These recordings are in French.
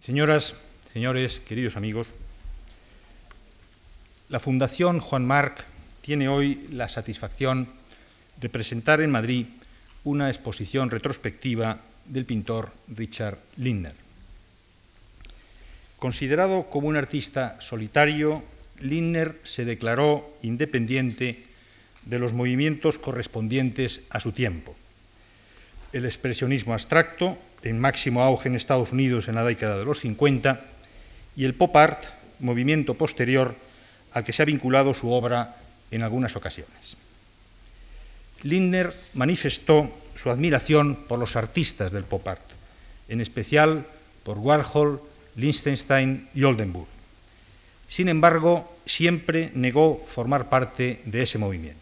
Señoras, señores, queridos amigos, la Fundación Juan March tiene hoy la satisfacción de presentar en Madrid una exposición retrospectiva del pintor Richard Lindner. Considerado como un artista solitario, Lindner se declaró independiente de los movimientos correspondientes a su tiempo. El expresionismo abstracto, en máximo auge en Estados Unidos en la década de los 50, y el pop art, movimiento posterior al que se ha vinculado su obra en algunas ocasiones. Lindner manifestó su admiración por los artistas del pop art, en especial por Warhol, Lichtenstein y Oldenburg. Sin embargo, siempre negó formar parte de ese movimiento.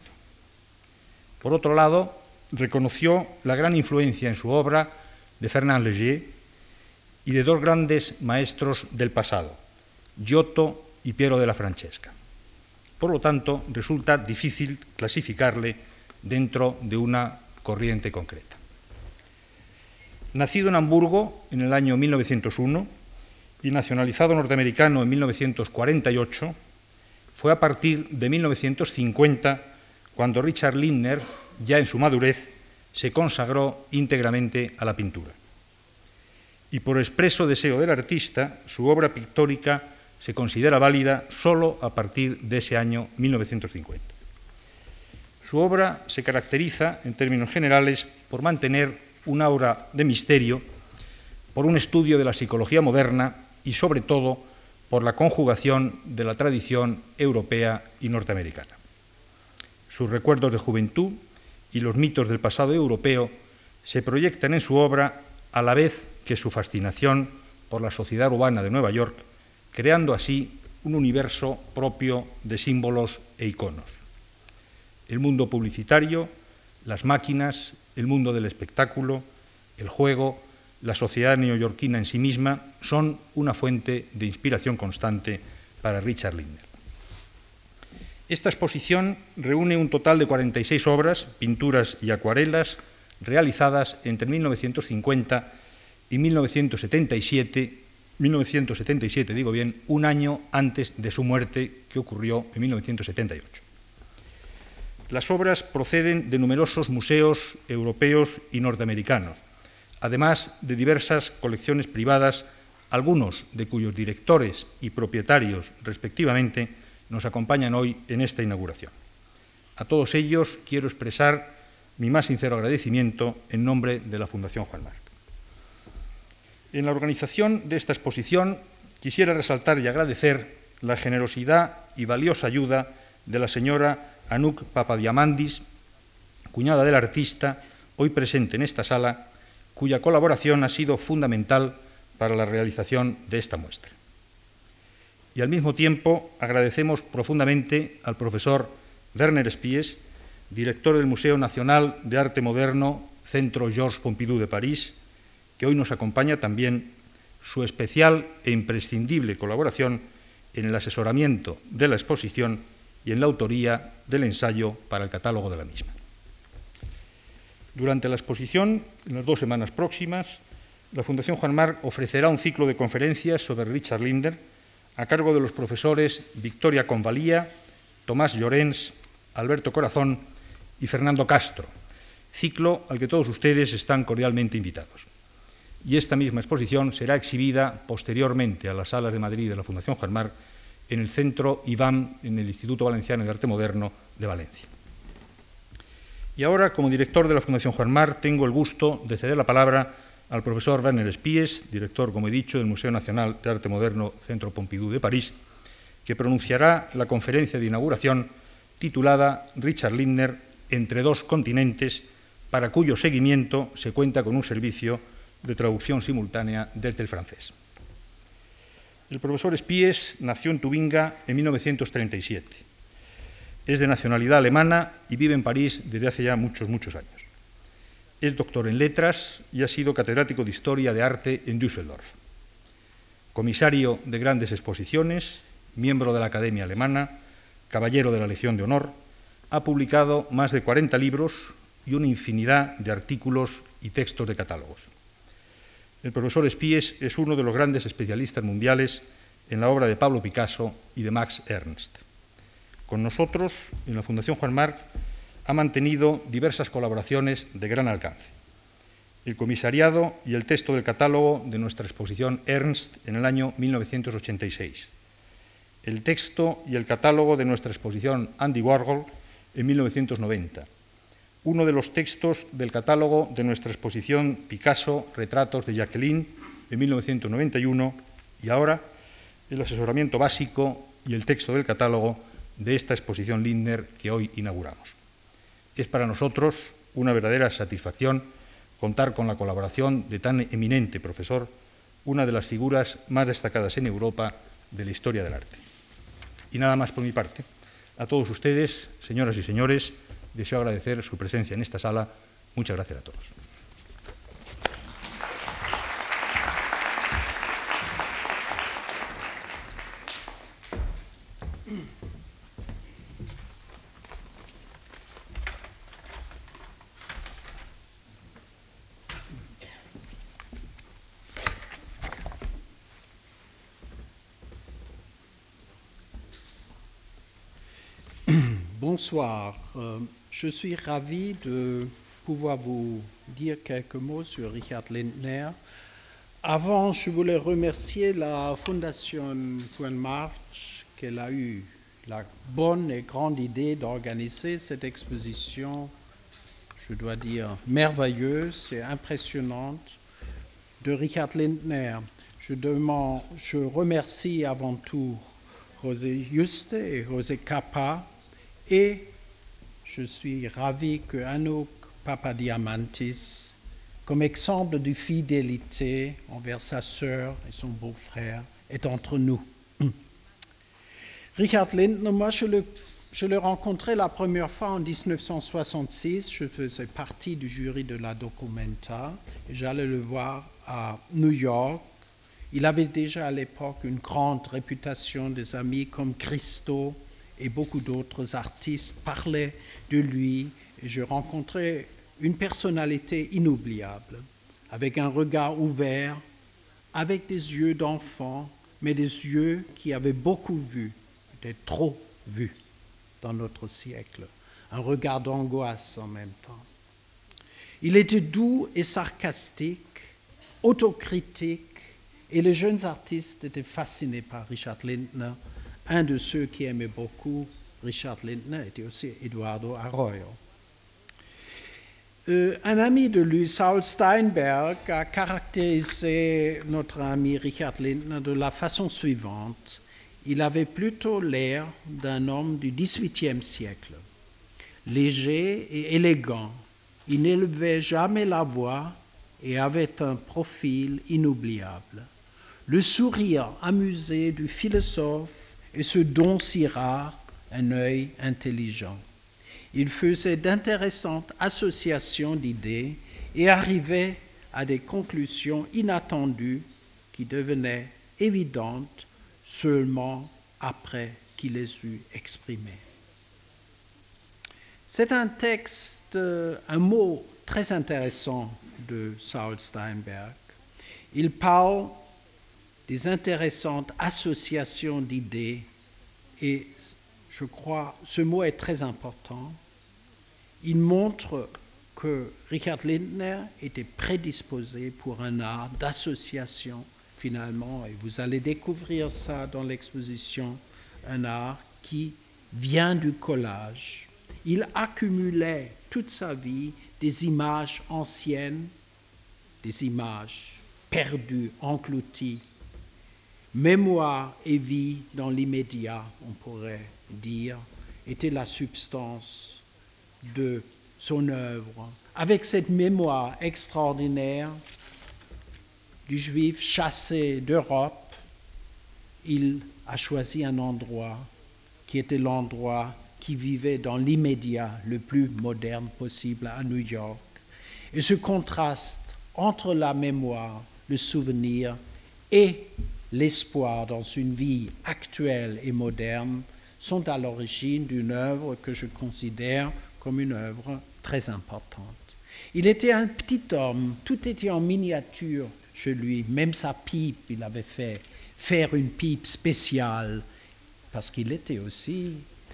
Por otro lado, reconoció la gran influencia en su obra de Fernand Léger y de dos grandes maestros del pasado, Giotto y Piero della Francesca. Por lo tanto, resulta difícil clasificarle dentro de una corriente concreta. Nacido en Hamburgo en el año 1901 y nacionalizado norteamericano en 1948, fue a partir de 1950 cuando Richard Lindner, ya en su madurez, se consagró íntegramente a la pintura. Y por expreso deseo del artista, su obra pictórica se considera válida solo a partir de ese año 1950. Su obra se caracteriza, en términos generales, por mantener un aura de misterio, por un estudio de la psicología moderna y, sobre todo, por la conjugación de la tradición europea y norteamericana. Sus recuerdos de juventud y los mitos del pasado europeo se proyectan en su obra a la vez que su fascinación por la sociedad urbana de Nueva York, creando así un universo propio de símbolos e iconos. El mundo publicitario, las máquinas, el mundo del espectáculo, el juego, la sociedad neoyorquina en sí misma son una fuente de inspiración constante para Richard Lindner. Esta exposición reúne un total de 46 obras, pinturas y acuarelas realizadas entre 1950 y 1977, digo bien, un año antes de su muerte, que ocurrió en 1978. Las obras proceden de numerosos museos europeos y norteamericanos, además de diversas colecciones privadas, algunos de cuyos directores y propietarios, respectivamente, nos acompañan hoy en esta inauguración. A todos ellos quiero expresar mi más sincero agradecimiento en nombre de la Fundación Juan March. En la organización de esta exposición quisiera resaltar y agradecer la generosidad y valiosa ayuda de la señora Anouk Papadiamandis, cuñada del artista, hoy presente en esta sala, cuya colaboración ha sido fundamental para la realización de esta muestra. Y al mismo tiempo agradecemos profundamente al profesor Werner Spies, director del Museo Nacional de Arte Moderno, Centro Georges Pompidou de París, que hoy nos acompaña también, su especial e imprescindible colaboración en el asesoramiento de la exposición y en la autoría del ensayo para el catálogo de la misma. Durante la exposición, en las 2 semanas próximas, la Fundación Juan March ofrecerá un ciclo de conferencias sobre Richard Lindner a cargo de los profesores Victoria Convalía, Tomás Llorens, Alberto Corazón y Fernando Castro, ciclo al que todos ustedes están cordialmente invitados. Y esta misma exposición será exhibida posteriormente a las salas de Madrid de la Fundación Juan March en el Centro IVAM, en el Instituto Valenciano de Arte Moderno de Valencia. Y ahora, como director de la Fundación Juan March, tengo el gusto de ceder la palabra al profesor Werner Spies, director, como he dicho, del Museo Nacional de Arte Moderno Centro Pompidou de París, que pronunciará la conferencia de inauguración titulada Richard Lindner entre dos continentes, para cuyo seguimiento se cuenta con un servicio de traducción simultánea desde el francés. El profesor Spies nació en Tubinga en 1937. Es de nacionalidad alemana y vive en París desde hace ya muchos años. Es doctor en letras y ha sido catedrático de Historia de Arte en Düsseldorf. Comisario de grandes exposiciones, miembro de la Academia Alemana, caballero de la Legión de Honor, ha publicado más de 40 libros y una infinidad de artículos y textos de catálogos. El profesor Spies es uno de los grandes especialistas mundiales en la obra de Pablo Picasso y de Max Ernst. Con nosotros, en la Fundación Juan March, ha mantenido diversas colaboraciones de gran alcance. El comisariado y el texto del catálogo de nuestra exposición Ernst en el año 1986. El texto y el catálogo de nuestra exposición Andy Warhol en 1990. Uno de los textos del catálogo de nuestra exposición Picasso, Retratos de Jacqueline en 1991 y ahora el asesoramiento básico y el texto del catálogo de esta exposición Lindner que hoy inauguramos. Es para nosotros una verdadera satisfacción contar con la colaboración de tan eminente profesor, una de las figuras más destacadas en Europa de la historia del arte. Y nada más por mi parte. A todos ustedes, señoras y señores, deseo agradecer su presencia en esta sala. Muchas gracias a todos. Bonsoir. Je suis ravi de pouvoir vous dire quelques mots sur Richard Lindner. Avant, je voulais remercier la Fondation Juan March qu'elle a eu la bonne et grande idée d'organiser cette exposition, je dois dire, merveilleuse et impressionnante de Richard Lindner. Je remercie avant tout José Juste et José Capa, et je suis ravi que Anouk Papadiamantis, comme exemple de fidélité envers sa sœur et son beau-frère, est entre nous. Richard Lindner, moi je l'ai rencontré la première fois en 1966. Je faisais partie du jury de la Documenta et j'allais le voir à New York. Il avait déjà à l'époque une grande réputation. Des amis comme Christo et beaucoup d'autres artistes parlaient de lui et je rencontrais une personnalité inoubliable, avec un regard ouvert, avec des yeux d'enfant, mais des yeux qui avaient beaucoup vu, peut-être trop vu dans notre siècle, un regard d'angoisse en même temps. Il était doux et sarcastique, autocritique, et les jeunes artistes étaient fascinés par Richard Lindner. Un de ceux qui aimait beaucoup Richard Lindner était aussi Eduardo Arroyo. Un ami de lui, Saul Steinberg, a caractérisé notre ami Richard Lindner de la façon suivante. Il avait plutôt l'air d'un homme du XVIIIe siècle, léger et élégant. Il n'élevait jamais la voix et avait un profil inoubliable. Le sourire amusé du philosophe et ce don si rare, un œil intelligent. Il faisait d'intéressantes associations d'idées et arrivait à des conclusions inattendues qui devenaient évidentes seulement après qu'il les eut exprimées. C'est un texte, un mot très intéressant de Saul Steinberg. Il parle des intéressantes associations d'idées et je crois ce mot est très important. Il montre que Richard Lindner était prédisposé pour un art d'association finalement, et vous allez découvrir ça dans l'exposition, un art qui vient du collage. Il accumulait toute sa vie des images anciennes, des images perdues, englouties. Mémoire et vie dans l'immédiat, on pourrait dire, était la substance de son œuvre. Avec cette mémoire extraordinaire du Juif chassé d'Europe, il a choisi un endroit qui était l'endroit qui vivait dans l'immédiat le plus moderne possible à New York. Et ce contraste entre la mémoire, le souvenir et l'espoir dans une vie actuelle et moderne sont à l'origine d'une œuvre que je considère comme une œuvre très importante. Il était un petit homme, tout était en miniature. chez lui. Même sa pipe, il avait fait faire une pipe spéciale parce qu'il était aussi...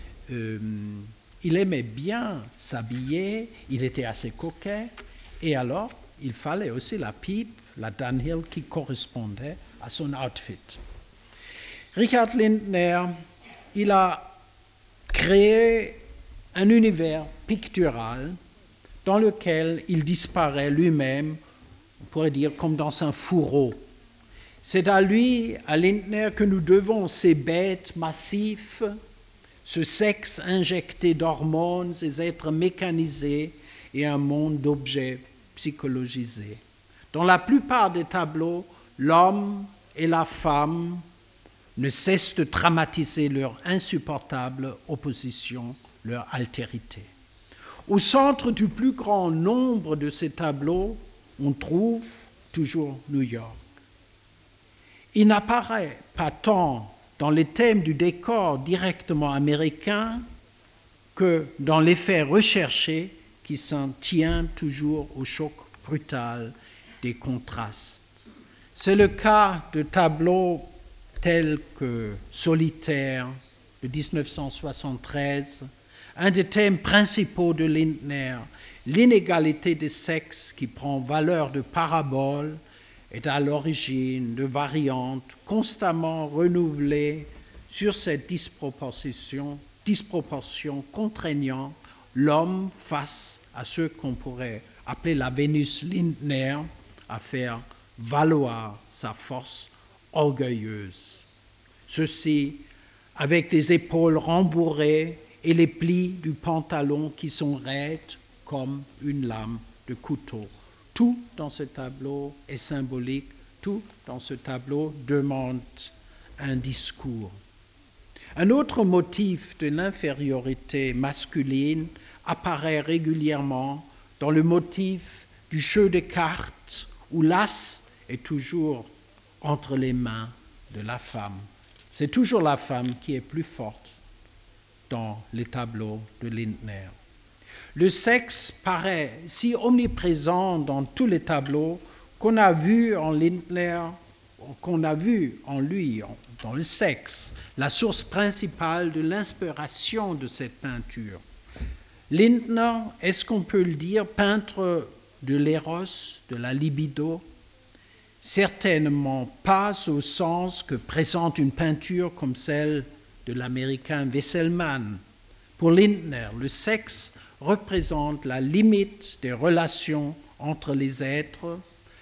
il aimait bien s'habiller, il était assez coquet, et alors il fallait aussi la pipe, la Dunhill, qui correspondait à son outfit. Richard Lindner, il a créé un univers pictural dans lequel il disparaît lui-même, on pourrait dire comme dans un fourreau. C'est à lui, à Lindner, que nous devons ces bêtes massifs, ce sexe injecté d'hormones, ces êtres mécanisés et un monde d'objets psychologisés. Dans la plupart des tableaux, l'homme et la femme ne cessent de dramatiser leur insupportable opposition, leur altérité. Au centre du plus grand nombre de ces tableaux, on trouve toujours New York. Il n'apparaît pas tant dans les thèmes du décor directement américain que dans l'effet recherché qui s'en tient toujours au choc brutal des contrastes. C'est le cas de tableaux tels que Solitaire de 1973, un des thèmes principaux de Lindner, l'inégalité des sexes qui prend valeur de parabole est à l'origine de variantes constamment renouvelées sur cette disproportion contraignant l'homme face à ce qu'on pourrait appeler la Vénus Lindner, à faire valoir sa force orgueilleuse. Ceci avec des épaules rembourrées et les plis du pantalon qui sont raides comme une lame de couteau. Tout dans ce tableau est symbolique, tout dans ce tableau demande un discours. Un autre motif de l'infériorité masculine apparaît régulièrement dans le motif du jeu de cartes où l'as est toujours entre les mains de la femme. C'est toujours la femme qui est plus forte dans les tableaux de Lindner. Le sexe paraît si omniprésent dans tous les tableaux qu'on a vu en Lindner, qu'on a vu en lui, dans le sexe, la source principale de l'inspiration de cette peinture. Lindner, est-ce qu'on peut le dire, peintre de l'éros, de la libido? Certainement pas au sens que présente une peinture comme celle de l'américain Wesselmann. Pour Lindner, le sexe représente la limite des relations entre les êtres,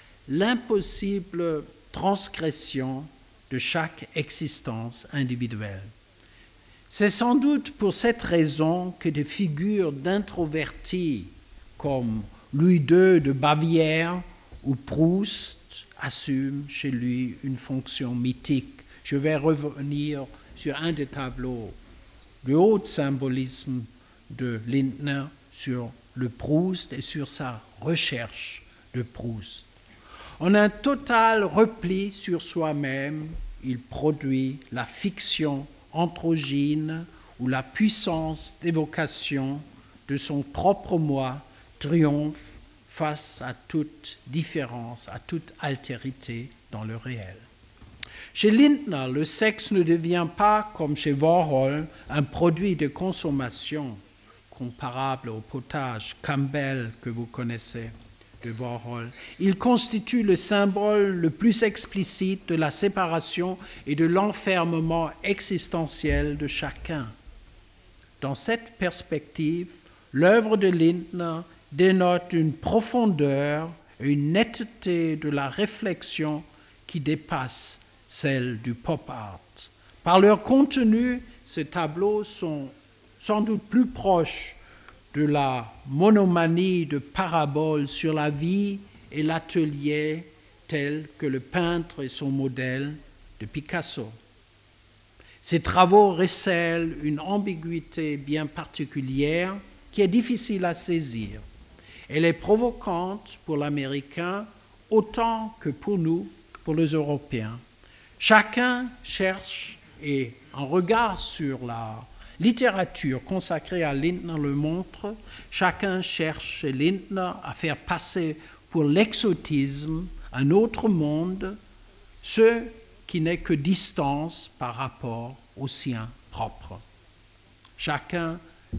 l'impossible transgression de chaque existence individuelle. C'est sans doute pour cette raison que des figures d'introvertis comme Louis II de Bavière ou Proust assument chez lui une fonction mythique. Je vais revenir sur un des tableaux de haut symbolisme de Lindner sur le Proust et sur sa recherche de Proust. En un total repli sur soi-même, il produit la fiction androgyne où la puissance d'évocation de son propre moi triomphe face à toute différence, à toute altérité dans le réel. Chez Lindner, le sexe ne devient pas, comme chez Warhol, un produit de consommation comparable au potage Campbell que vous connaissez de Warhol. Il constitue le symbole le plus explicite de la séparation et de l'enfermement existentiel de chacun. Dans cette perspective, l'œuvre de Lindner dénote une profondeur et une netteté de la réflexion qui dépasse celle du pop art. Par leur contenu, ces tableaux sont sans doute plus proches de la monomanie de paraboles sur la vie et l'atelier tel que le peintre et son modèle de Picasso. Ces travaux recèlent une ambiguïté bien particulière qui est difficile à saisir. Elle est provocante pour l'Américain autant que pour nous, pour les Européens. Chacun cherche, et un regard sur la littérature consacrée à Lindner le montre, chacun cherche chez Lindner à faire passer pour l'exotisme un autre monde, ce qui n'est que distance par rapport au sien propre. Chacun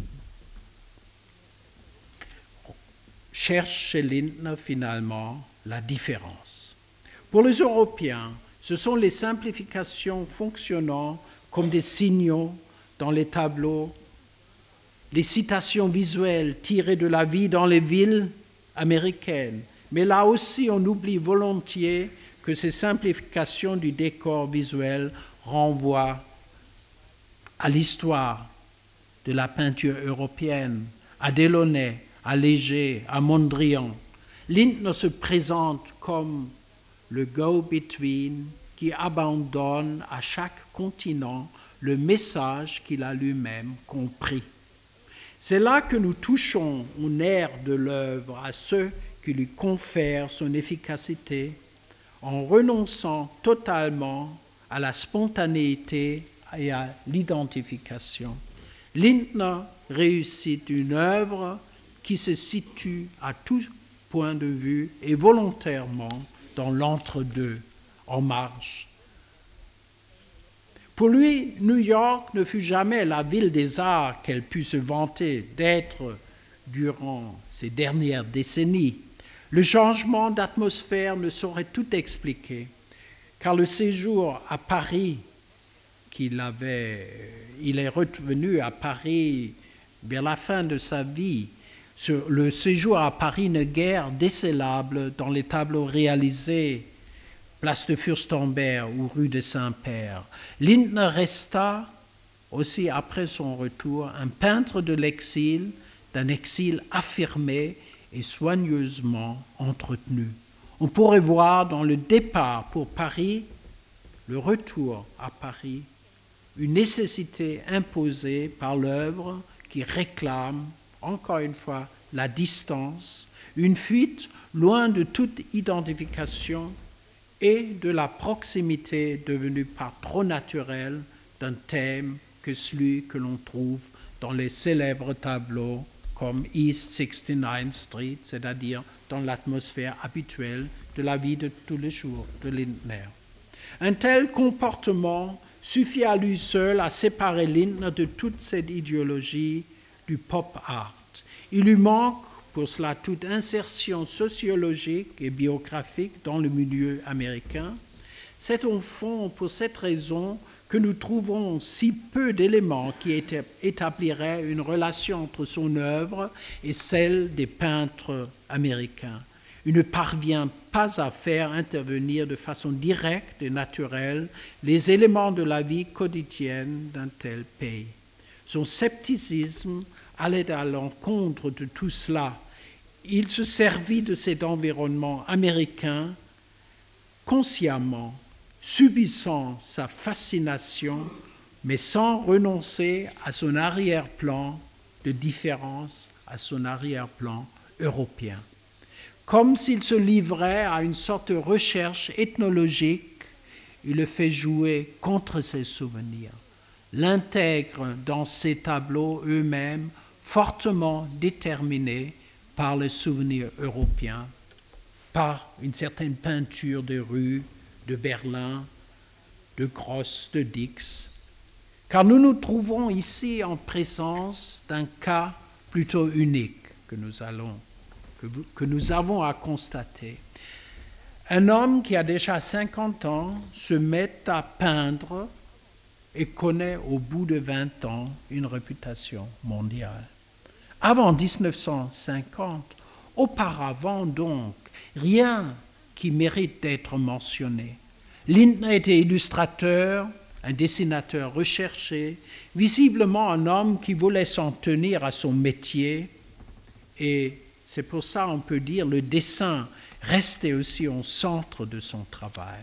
cherche chez Lindner finalement la différence. Pour les Européens, ce sont les simplifications fonctionnant comme des signaux dans les tableaux, les citations visuelles tirées de la vie dans les villes américaines. Mais là aussi, on oublie volontiers que ces simplifications du décor visuel renvoient à l'histoire de la peinture européenne, à Delaunay, à Léger, à Mondrian. Lindner se présente comme le go-between qui abandonne à chaque continent le message qu'il a lui-même compris. C'est là que nous touchons au nerf de l'œuvre, à ceux qui lui confèrent son efficacité, en renonçant totalement à la spontanéité et à l'identification. Lindner réussit une œuvre qui se situe à tout point de vue et volontairement dans l'entre-deux, en marge. Pour lui, New York ne fut jamais la ville des arts qu'elle put se vanter d'être durant ces dernières décennies. Le changement d'atmosphère ne saurait tout expliquer, car le séjour à Paris il est revenu à Paris vers la fin de sa vie. Le séjour à Paris n'est guère décélable dans les tableaux réalisés place de Fürstenberg ou rue de Saint-Père. Lindner resta aussi après son retour un peintre de l'exil, d'un exil affirmé et soigneusement entretenu. On pourrait voir dans le départ pour Paris, le retour à Paris, une nécessité imposée par l'œuvre qui réclame, encore une fois, la distance, une fuite loin de toute identification et de la proximité devenue par trop naturelle d'un thème que celui que l'on trouve dans les célèbres tableaux comme East 69th Street, c'est-à-dire dans l'atmosphère habituelle de la vie de tous les jours de Lindner. Un tel comportement suffit à lui seul à séparer Lindner de toute cette idéologie du pop art. Il lui manque pour cela toute insertion sociologique et biographique dans le milieu américain. C'est au fond pour cette raison que nous trouvons si peu d'éléments qui établiraient une relation entre son œuvre et celle des peintres américains. Il ne parvient pas à faire intervenir de façon directe et naturelle les éléments de la vie quotidienne d'un tel pays. Son scepticisme allait à l'encontre de tout cela. Il se servit de cet environnement américain consciemment, subissant sa fascination, mais sans renoncer à son arrière-plan de différence, à son arrière-plan européen. Comme s'il se livrait à une sorte de recherche ethnologique, il le fait jouer contre ses souvenirs, l'intègre dans ses tableaux eux-mêmes fortement déterminés par les souvenirs européens, par une certaine peinture de rue, de Berlin, de Gross, de Dix. Car nous nous trouvons ici en présence d'un cas plutôt unique que nous avons à constater. Un homme qui a déjà 50 ans se met à peindre et connaît au bout de 20 ans une réputation mondiale. Avant 1950, auparavant donc, rien qui mérite d'être mentionné. Lindner était illustrateur, un dessinateur recherché, visiblement un homme qui voulait s'en tenir à son métier, et c'est pour ça qu'on peut dire le dessin restait aussi au centre de son travail.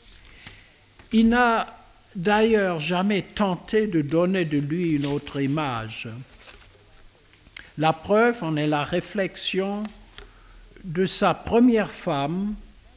Il n'a d'ailleurs jamais tenté de donner de lui une autre image. La preuve en est la réflexion de sa première femme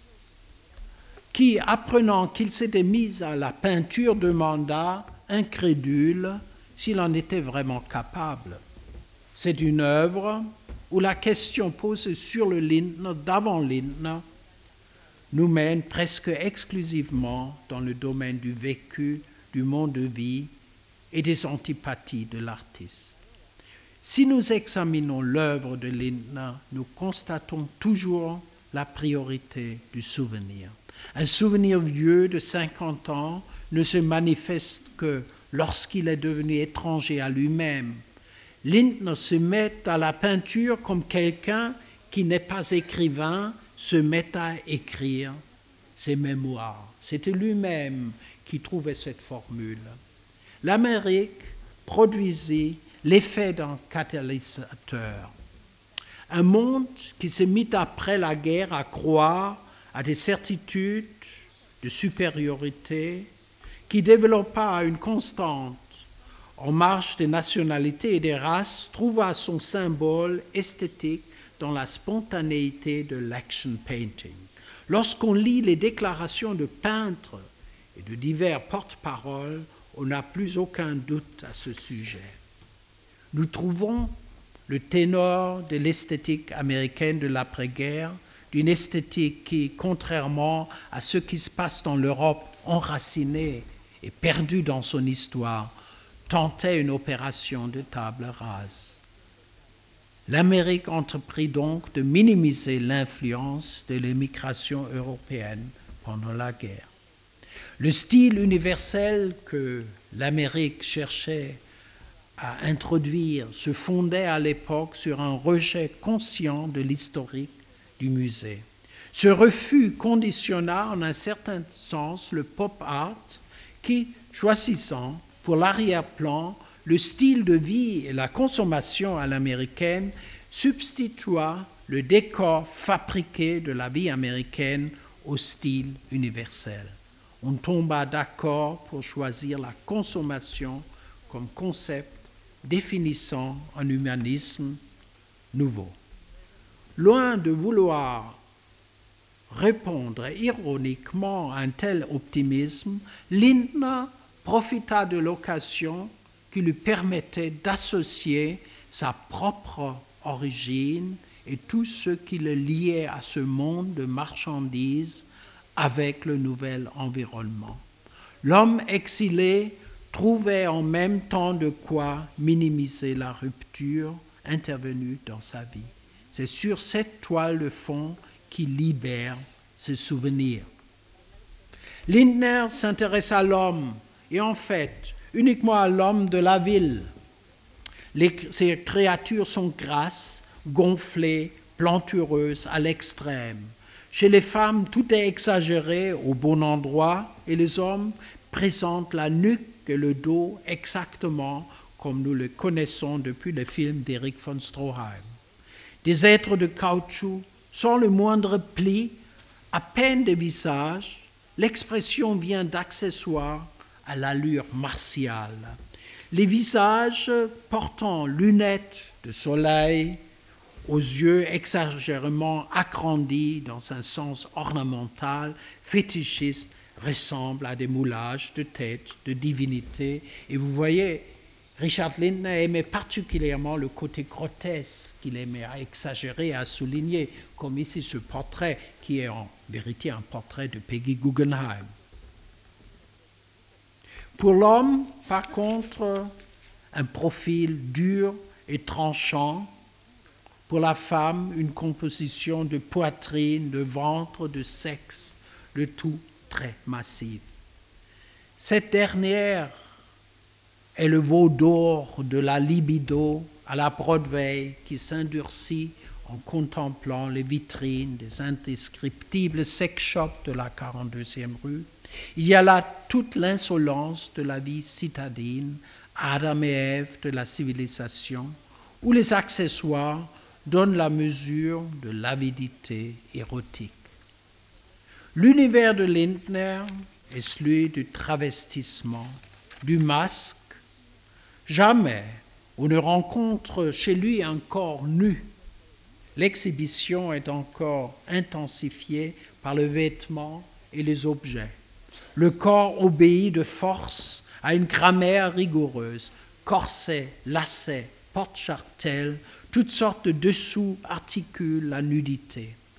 qui, apprenant qu'il s'était mis à la peinture, demanda, incrédule, s'il en était vraiment capable. C'est une œuvre où la question posée sur le Lindner, d'avant Lindner, nous mène presque exclusivement dans le domaine du vécu, du monde de vie et des antipathies de l'artiste. Si nous examinons l'œuvre de Lindner, nous constatons toujours la priorité du souvenir. Un souvenir vieux de 50 ans ne se manifeste que lorsqu'il est devenu étranger à lui-même. Lindner se met à la peinture comme quelqu'un qui n'est pas écrivain se met à écrire ses mémoires. C'était lui-même qui trouvait cette formule. L'Amérique produisit l'effet d'un catalyseur. Un monde qui se mit après la guerre à croire à des certitudes de supériorité, qui développa une constante en marche des nationalités et des races, trouva son symbole esthétique dans la spontanéité de l'action painting. Lorsqu'on lit les déclarations de peintres et de divers porte-paroles, on n'a plus aucun doute à ce sujet. Nous trouvons le ténor de l'esthétique américaine de l'après-guerre, d'une esthétique qui, contrairement à ce qui se passe dans l'Europe enracinée et perdue dans son histoire, tentait une opération de table rase. L'Amérique entreprit donc de minimiser l'influence de l'émigration européenne pendant la guerre. Le style universel que l'Amérique cherchait à introduire se fondait à l'époque sur un rejet conscient de l'historique du musée. Ce refus conditionna en un certain sens le pop art qui, choisissant pour l'arrière-plan le style de vie et la consommation à l'américaine, substitua le décor fabriqué de la vie américaine au style universel. On tomba d'accord pour choisir la consommation comme concept définissant un humanisme nouveau. Loin de vouloir répondre ironiquement à un tel optimisme, Lindner profita de l'occasion qui lui permettait d'associer sa propre origine et tout ce qui le liait à ce monde de marchandises avec le nouvel environnement. L'homme exilé trouvait en même temps de quoi minimiser la rupture intervenue dans sa vie. C'est sur cette toile de fond qu'il libère ses souvenirs. Lindner s'intéresse à l'homme et en fait uniquement à l'homme de la ville. Ces créatures sont grasses, gonflées, plantureuses à l'extrême. Chez les femmes, tout est exagéré au bon endroit et les hommes présentent la nuque et le dos exactement comme nous le connaissons depuis le film d'Erich von Stroheim. Des êtres de caoutchouc, sans le moindre pli, à peine des visages, l'expression vient d'accessoires à l'allure martiale. Les visages portant lunettes de soleil, aux yeux exagérément agrandis dans un sens ornemental, fétichiste, ressemblent à des moulages de têtes, de divinités. Et vous voyez, Richard Lindner aimait particulièrement le côté grotesque qu'il aimait à exagérer, à souligner, comme ici ce portrait qui est en vérité un portrait de Peggy Guggenheim. Pour l'homme, par contre, un profil dur et tranchant. Pour la femme, une composition de poitrine, de ventre, de sexe, le tout très massif. Cette dernière est le veau d'or de la libido à la Broadway qui s'endurcit en contemplant les vitrines des indescriptibles sex shops de la 42e rue. Il y a là toute l'insolence de la vie citadine, Adam et Ève de la civilisation, où les accessoires donnent la mesure de l'avidité érotique. L'univers de Lindner est celui du travestissement, du masque. Jamais on ne rencontre chez lui un corps nu. L'exhibition est encore intensifiée par le vêtement et les objets. Le corps obéit de force à une grammaire rigoureuse. Corset, lacets, porte-jartelles, toutes sortes de dessous articulent la nudité.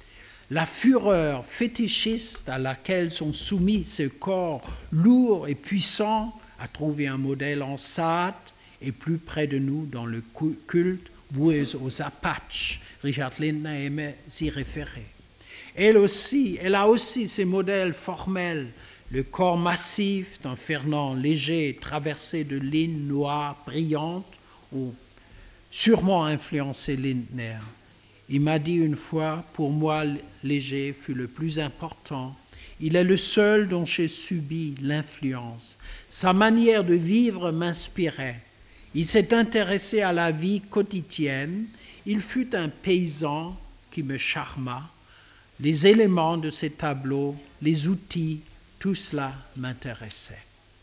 la fureur fétichiste à laquelle sont soumis ces corps lourds et puissants a trouvé un modèle en Sade et plus près de nous dans le culte voué aux Apaches. Richard Lindner aimait s'y référer. Elle a aussi ses modèles formels, le corps massif d'un Fernand Léger traversé de lignes noires brillantes ont sûrement influencé Lindner. Il m'a dit une fois, pour moi, Léger fut le plus important. Il est le seul dont j'ai subi l'influence. Sa manière de vivre m'inspirait. Il s'est intéressé à la vie quotidienne. Il fut un paysan qui me charma. Les éléments de ces tableaux, les outils, tout cela m'intéressait.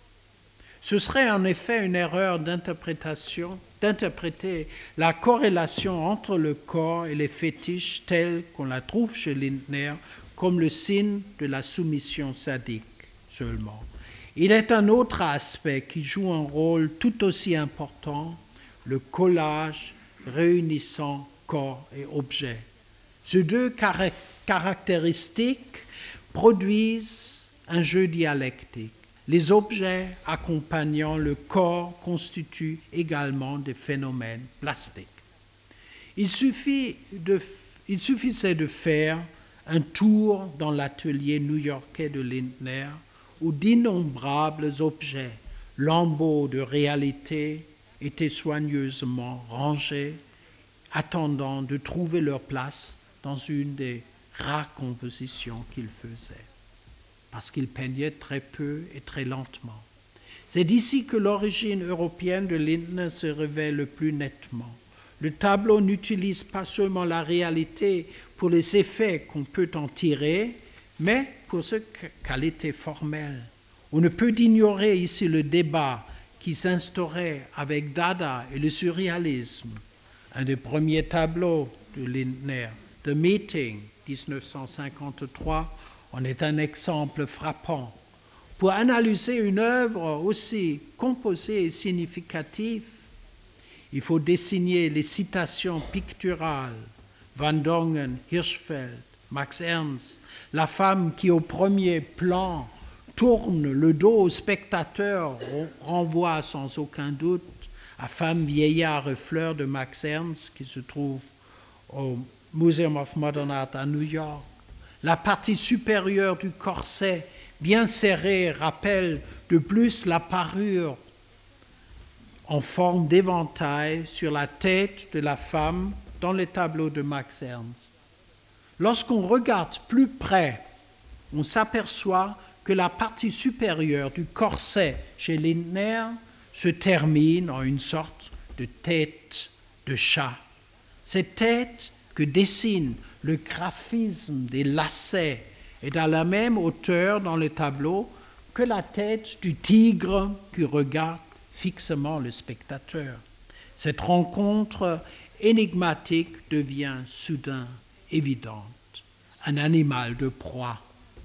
Ce serait en effet une erreur d'interpréter la corrélation entre le corps et les fétiches tels qu'on la trouve chez Lindner comme le signe de la soumission sadique seulement. Il est un autre aspect qui joue un rôle tout aussi important, le collage réunissant corps et objets. Ces deux caractéristiques produisent un jeu dialectique. Les objets accompagnant le corps constituent également des phénomènes plastiques. Il suffisait de faire un tour dans l'atelier new-yorkais de Lindner où d'innombrables objets, lambeaux de réalité, étaient soigneusement rangés, attendant de trouver leur place dans une des rares compositions qu'il faisait, parce qu'il peignait très peu et très lentement. C'est d'ici que l'origine européenne de Lindner se révèle le plus nettement. Le tableau n'utilise pas seulement la réalité pour les effets qu'on peut en tirer, mais pour sa qualité formelle. On ne peut ignorer ici le débat qui s'instaurait avec Dada et le surréalisme. Un des premiers tableaux de Lindner, The Meeting, 1953, en est un exemple frappant. Pour analyser une œuvre aussi composée et significative, il faut désigner les citations picturales, Van Dongen, Hirschfeld, Max Ernst, la femme qui au premier plan tourne le dos au spectateur renvoie sans aucun doute à Femme, vieillard et fleur de Max Ernst qui se trouve au Museum of Modern Art à New York. La partie supérieure du corset bien serré rappelle de plus la parure en forme d'éventail sur la tête de la femme dans les tableaux de Max Ernst. Lorsqu'on regarde plus près, on s'aperçoit que la partie supérieure du corset chez Lindner se termine en une sorte de tête de chat. Cette tête que dessine le graphisme des lacets est à la même hauteur dans le tableau que la tête du tigre qui regarde fixement le spectateur. Cette rencontre énigmatique devient soudain évidente. Un animal de proie.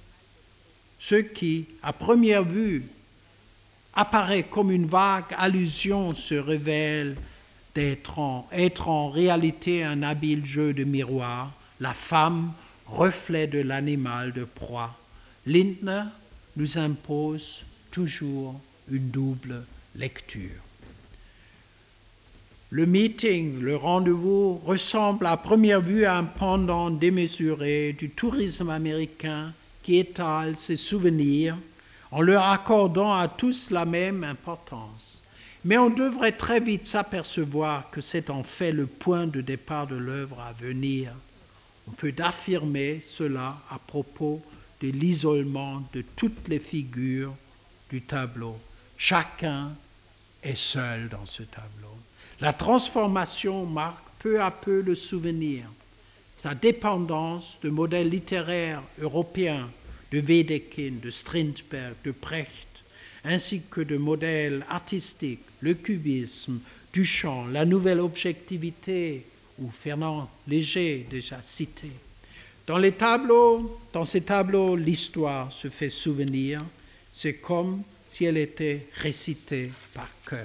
Ce qui, à première vue, apparaît comme une vague allusion se révèle être en réalité un habile jeu de miroir, la femme, reflet de l'animal de proie. Lindner nous impose toujours une double lecture. Le meeting, le rendez-vous, ressemble à première vue à un pendant démesuré du tourisme américain qui étale ses souvenirs en leur accordant à tous la même importance. Mais on devrait très vite s'apercevoir que c'est en fait le point de départ de l'œuvre à venir. On peut affirmer cela à propos de l'isolement de toutes les figures du tableau. Chacun est seul dans ce tableau. La transformation marque peu à peu le souvenir. Sa dépendance de modèles littéraires européens, de Wedekind, de Strindberg, de Brecht, ainsi que de modèles artistiques, le cubisme, Duchamp, la nouvelle objectivité, ou Fernand Léger, déjà cité. Dans ces tableaux, l'histoire se fait souvenir. C'est comme si elle était récitée par cœur.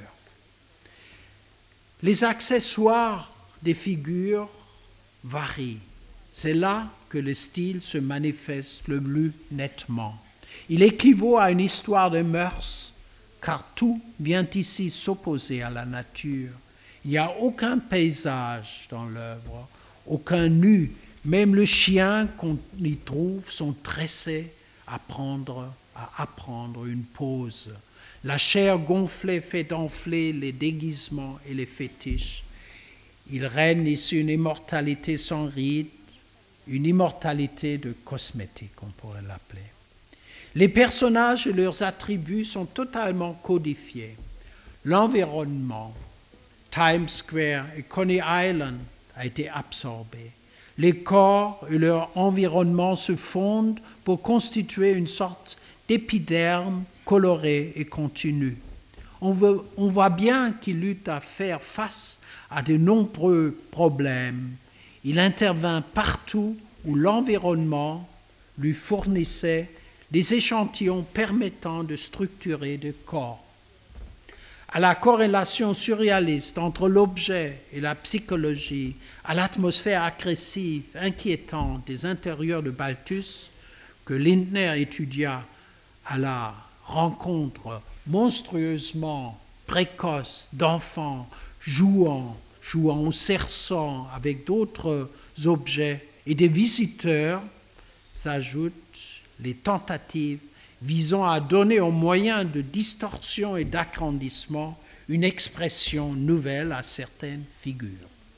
Les accessoires des figures varient. C'est là que le style se manifeste le plus nettement. Il équivaut à une histoire de mœurs, car tout vient ici s'opposer à la nature. Il n'y a aucun paysage dans l'œuvre, aucun nu. Même les chiens qu'on y trouve sont tressés à apprendre une pose. La chair gonflée fait enfler les déguisements et les fétiches. Il règne ici une immortalité sans ride, une immortalité de cosmétique, on pourrait l'appeler. Les personnages et leurs attributs sont totalement codifiés. L'environnement, Times Square et Coney Island, a été absorbé. Les corps et leur environnement se fondent pour constituer une sorte d'épiderme coloré et continu. On voit bien qu'il eut à faire face à de nombreux problèmes. Il intervint partout où l'environnement lui fournissait des échantillons permettant de structurer des corps. À la corrélation surréaliste entre l'objet et la psychologie, à l'atmosphère agressive, inquiétante des intérieurs de Balthus, que Lindner étudia à la rencontre monstrueusement précoce d'enfants jouant au cerceau avec d'autres objets et des visiteurs, s'ajoutent les tentatives visant à donner aux moyens de distorsion et d'agrandissement une expression nouvelle à certaines figures.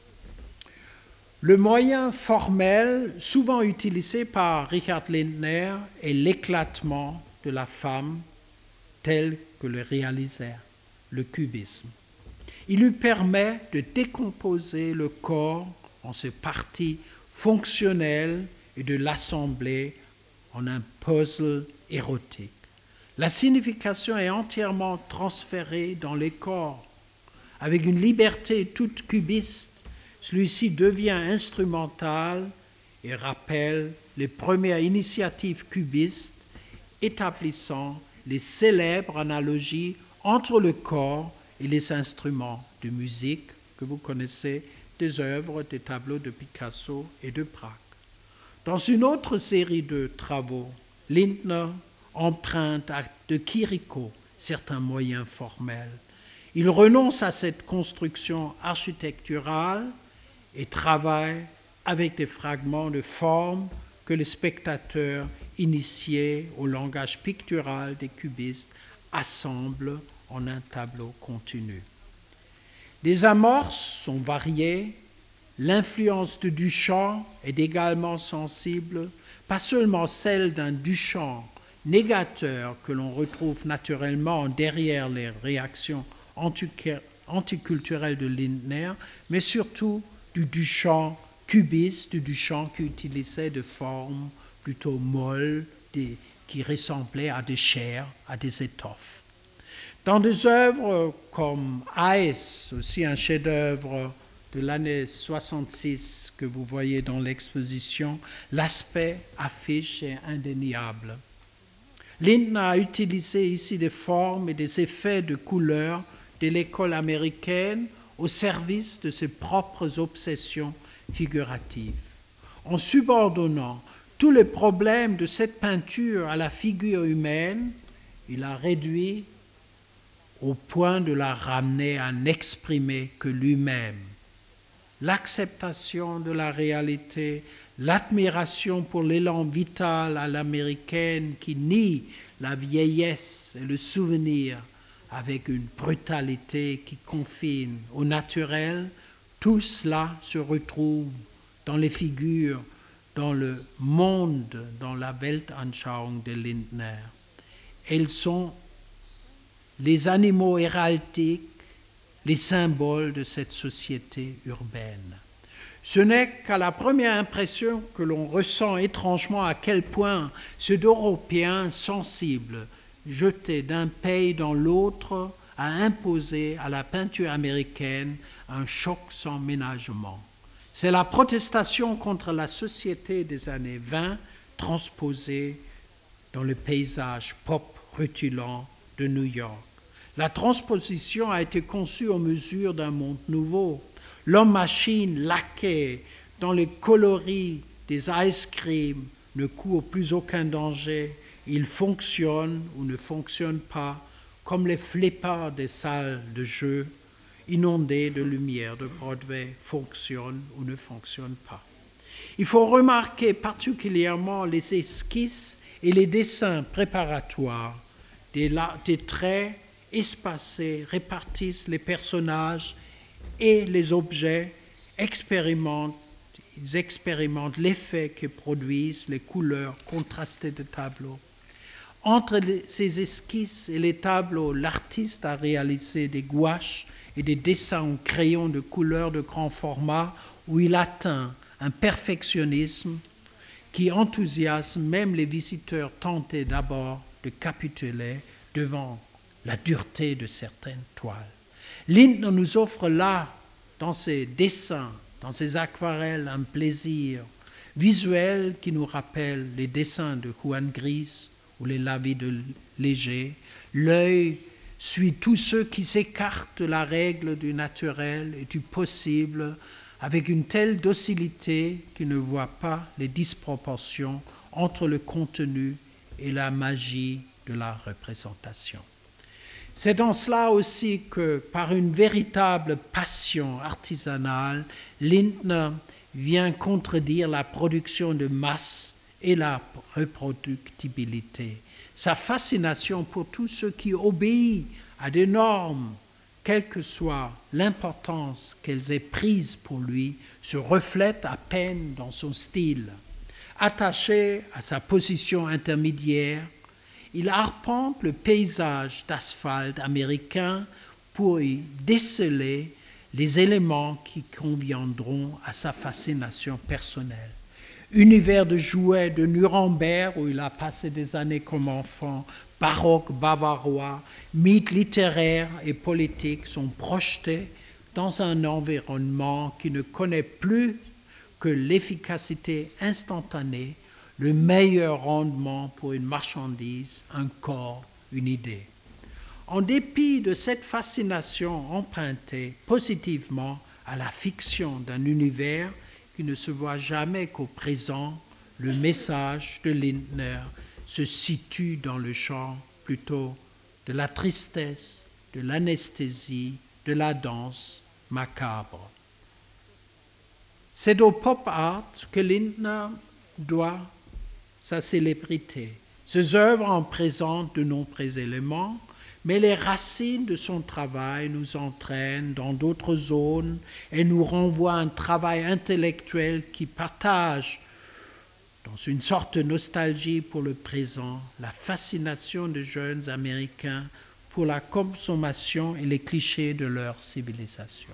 Le moyen formel souvent utilisé par Richard Lindner est l'éclatement de la femme tel que le réalisait le cubisme. Il lui permet de décomposer le corps en ses parties fonctionnelles et de l'assembler en un puzzle érotique. La signification est entièrement transférée dans les corps. Avec une liberté toute cubiste, celui-ci devient instrumental et rappelle les premières initiatives cubistes établissant les célèbres analogies entre le corps et les instruments de musique que vous connaissez des œuvres, des tableaux de Picasso et de Braque. Dans une autre série de travaux, Lindner emprunte de Chirico certains moyens formels. Il renonce à cette construction architecturale et travaille avec des fragments de forme que les spectateurs initiés au langage pictural des cubistes assemblent en un tableau continu. Les amorces sont variées. L'influence de Duchamp est également sensible, pas seulement celle d'un Duchamp négateur que l'on retrouve naturellement derrière les réactions anticulturelles de Lindner, mais surtout du Duchamp cubiste, du Duchamp qui utilisait des formes plutôt molles, qui ressemblaient à des chairs, à des étoffes. Dans des œuvres comme Ice, aussi un chef-d'œuvre de l'année 66 que vous voyez dans l'exposition, l'aspect affiche est indéniable. Lindner a utilisé ici des formes et des effets de couleurs de l'école américaine au service de ses propres obsessions figuratives. En subordonnant tous les problèmes de cette peinture à la figure humaine, il a réduit au point de la ramener à n'exprimer que lui-même. L'acceptation de la réalité, l'admiration pour l'élan vital à l'américaine qui nie la vieillesse et le souvenir avec une brutalité qui confine au naturel, tout cela se retrouve dans les figures, dans le monde, dans la Weltanschauung de Lindner. Elles sont les animaux héraldiques, les symboles de cette société urbaine. Ce n'est qu'à la première impression que l'on ressent étrangement à quel point ces Européens sensibles, jetés d'un pays dans l'autre, a imposé à la peinture américaine un choc sans ménagement. C'est la protestation contre la société des années 20 transposée dans le paysage pop rutilant de New York. La transposition a été conçue en mesure d'un monde nouveau. L'homme-machine laqué dans les coloris des ice cream ne courent plus aucun danger, ils fonctionnent ou ne fonctionnent pas, comme les flipper's des salles de jeu inondées de lumière de Broadway fonctionnent ou ne fonctionnent pas. Il faut remarquer particulièrement les esquisses et les dessins préparatoires. Des traits espacés répartissent les personnages et les objets. Ils expérimentent l'effet que produisent les couleurs contrastées de tableaux. Entre ces esquisses et les tableaux, l'artiste a réalisé des gouaches et des dessins en crayon de couleur de grand format où il atteint un perfectionnisme qui enthousiasme même les visiteurs tentés d'abord de capituler devant la dureté de certaines toiles. Lindner nous offre là, dans ses dessins, dans ses aquarelles, un plaisir visuel qui nous rappelle les dessins de Juan Gris ou les lavis de Léger. L'œil suit tous ceux qui s'écartent de la règle du naturel et du possible avec une telle docilité qu'il ne voit pas les disproportions entre le contenu et la magie de la représentation. C'est dans cela aussi que, par une véritable passion artisanale, Lindner vient contredire la production de masse et la reproductibilité. Sa fascination pour tout ce qui obéit à des normes, quelle que soit l'importance qu'elles aient prise pour lui, se reflète à peine dans son style. Attaché à sa position intermédiaire, il arpente le paysage d'asphalte américain pour y déceler les éléments qui conviendront à sa fascination personnelle. Univers de jouets de Nuremberg, où il a passé des années comme enfant, baroque bavarois, mythes littéraires et politiques sont projetés dans un environnement qui ne connaît plus que l'efficacité instantanée, le meilleur rendement pour une marchandise, un corps, une idée. En dépit de cette fascination empruntée positivement à la fiction d'un univers qui ne se voit jamais qu'au présent, le message de Lindner se situe dans le champ plutôt de la tristesse, de l'anesthésie, de la danse macabre. C'est au pop art que Lindner doit sa célébrité. Ses œuvres en présentent de nombreux éléments, mais les racines de son travail nous entraînent dans d'autres zones et nous renvoient à un travail intellectuel qui partage, dans une sorte de nostalgie pour le présent, la fascination des jeunes Américains pour la consommation et les clichés de leur civilisation.